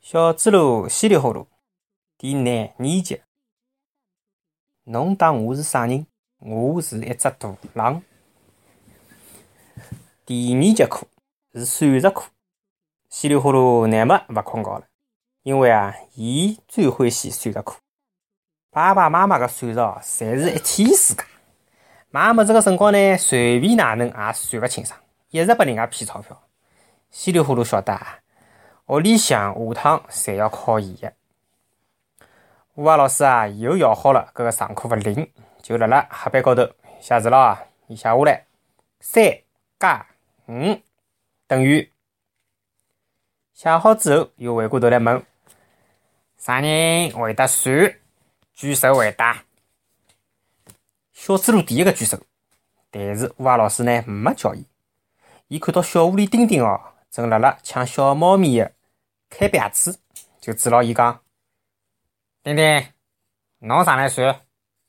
小猪猡稀里呼噜第廿二集。侬当我是啥人？我是一只大狼。第二节课是数学课，稀里呼噜乃末勿困觉了，因为伊最欢喜数学课。爸爸妈妈个算术侪是一天世界。妈妈这个辰光呢，随便哪能也算勿清爽，一直拨人家骗钞票。稀里呼噜晓得屋里向下趟侪要考伊个。吴华老师又摇好了搿个上课勿灵，就辣辣黑板高头写字了伊写下来3加5等于。写好之后又回过头来问啥人会得算？举手回答。小猪猡第一个举手，但是吴华老师呢没叫伊。伊看到小狐狸丁丁正辣辣抢小猫咪的开瓶子，就指牢伊讲：丁丁，侬上来算。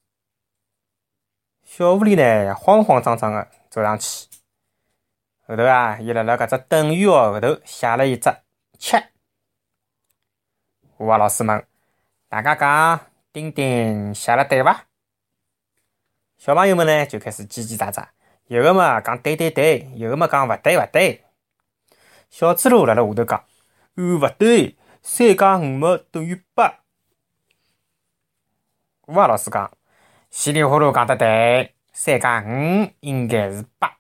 小狐狸呢慌慌张张的走上去，后头伊辣辣搿只等于号后头写了一只7。吴华老师问大家讲丁丁写了对伐？小朋友们呢就开始叽叽喳喳，有个嘛讲对对对，有个嘛讲勿对勿对。小猪猡辣辣下头讲勿对，3加5嘛等于8。吴华老师讲稀里呼噜讲得对，3加5应该是8。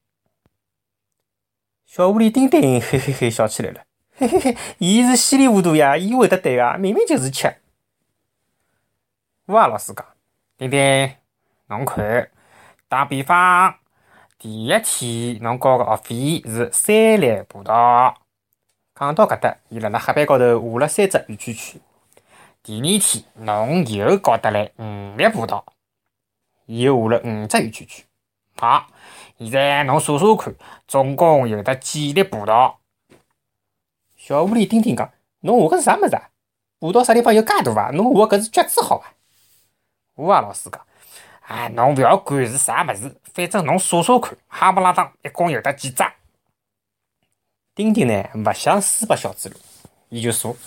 小狐狸丁丁嘿嘿嘿笑起来了，嘿嘿嘿，伊是稀里糊涂呀，伊会得对啊，明明就是7。吴华老师讲丁丁，侬看，打比方，第一天侬交个学费是3粒葡萄。讲到搿搭，伊辣辣黑板高头画了3只圆圈圈。第二天侬又交得来5粒葡萄，伊又画了5只圆圈圈。好，现在侬数数看，总共有得几粒葡萄？小狐狸丁丁讲：侬画个是啥物事啊？葡萄啥地方有介大啊？侬画个搿是橘子好伐？吴华老师讲：侬勿要管是啥物事，反正侬数数看，哈不拉当一共有得几只？丁丁呢勿想输拨小猪猡，伊就数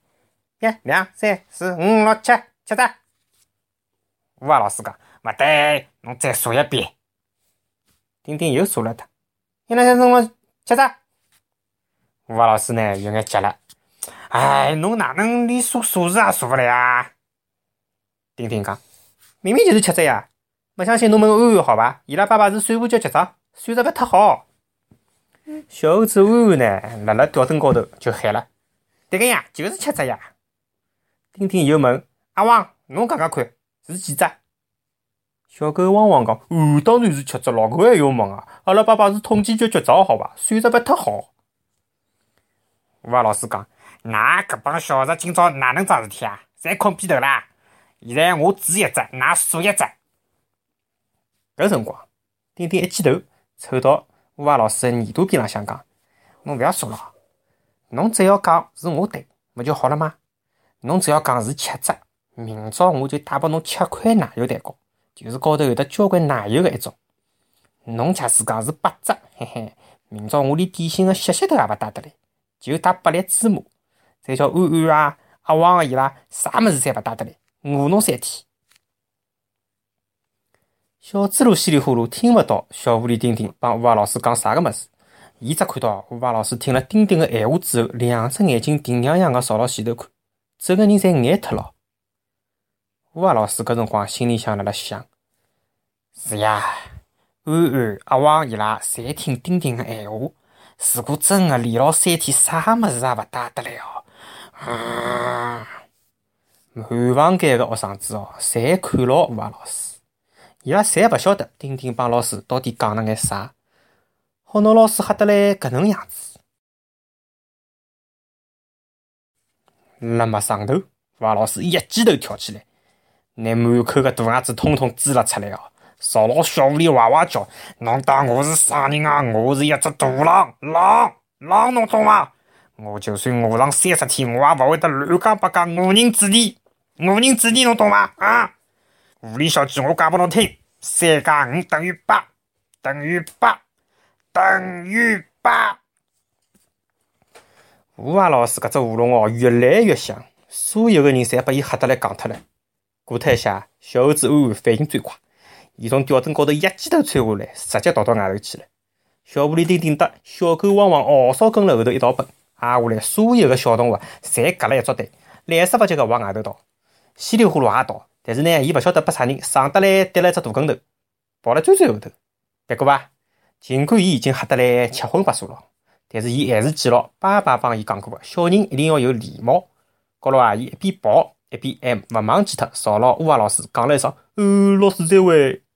1、2、3、4、5、6、7，7只。吴华老师讲勿对，侬再数一遍。丁丁又数了他1、2、3、4、5、6、7只。吴华老师呢有眼急了，侬哪能连数数字也数勿来啊？丁丁讲明明就是7只呀，勿相信侬问安安好伐？伊拉爸爸是算盘局局长，算得勿忒好。小猴子安安呢辣辣吊灯高头就喊了：对个呀，就是7只呀。丁丁又问阿汪，侬讲讲看是几只？小狗汪汪讲当然是7只，老狗还要问阿拉爸爸是统计局局长好伐？算得勿忒好。吴华老师讲㑚搿帮小孩今朝哪能桩事体啊？侪困屁头啦！现在我指一只，㑚数一只。搿辰光，丁丁一记头凑到吴华老师的耳朵边浪向讲：侬勿要数了，侬只要讲是我对，勿就好了吗？侬只要讲是7只，明朝我就带拨侬吃块奶油蛋糕，就是高头有得交关奶油的一种。侬假使讲是8只，嘿嘿，明朝我连点心的屑屑头也勿带得来，就带8粒芝麻，再叫安安阿汪伊拉啥物事侪勿带得来，饿侬3天。小猪猡稀里呼噜听勿到小狐狸丁丁帮吴华老师讲啥个物事，伊只看到吴华老师听了丁丁的闲话之后，两只眼睛定洋洋的朝牢前头看，整个人侪呆脱了。吴华老师搿辰光心里向辣辣想：是呀，安安阿汪伊拉侪听丁丁的闲话，如果真的连牢3天，啥物事也勿带得来满房间的学生子侪看牢吴华老师，伊拉侪勿晓得丁丁帮老师到底讲了眼啥，好拿老师吓得来搿能样子。辣么上头，吴华老师一记头跳起来，拿满口的大牙子统统挤了出来朝牢小狐狸哇哇叫：侬当我是啥人啊？我是一只大狼，狼侬懂吗？我就算饿上30天，我也勿会得乱讲八讲误人子弟侬懂吗？狐狸小鸡，我讲拨侬听，3加5等于8，等于8。吴吴华老师搿只画龙哦，越来越像，所有个人侪把伊吓得来戆脱了。过脱一下，小猴子安安反应最快，伊从吊灯高头一记头窜下来，直接逃到外头去了。小狐狸丁顶得小狗汪汪嗷嗷跟了后头一道奔，挨下来所有个小动物侪夹了一撮队，来势不及个往外头逃。稀里呼噜也逃，但是呢，伊勿晓得被啥人上得来跌了一只大跟头，跑了最后头。别过吧，尽管伊已经吓得来七荤八素了，但是伊还是记牢爸爸帮伊讲过的，小人一定要有礼貌。高头伊一边跑一边还勿忘记脱朝牢乌鸦老师讲了一声：“老师再会。”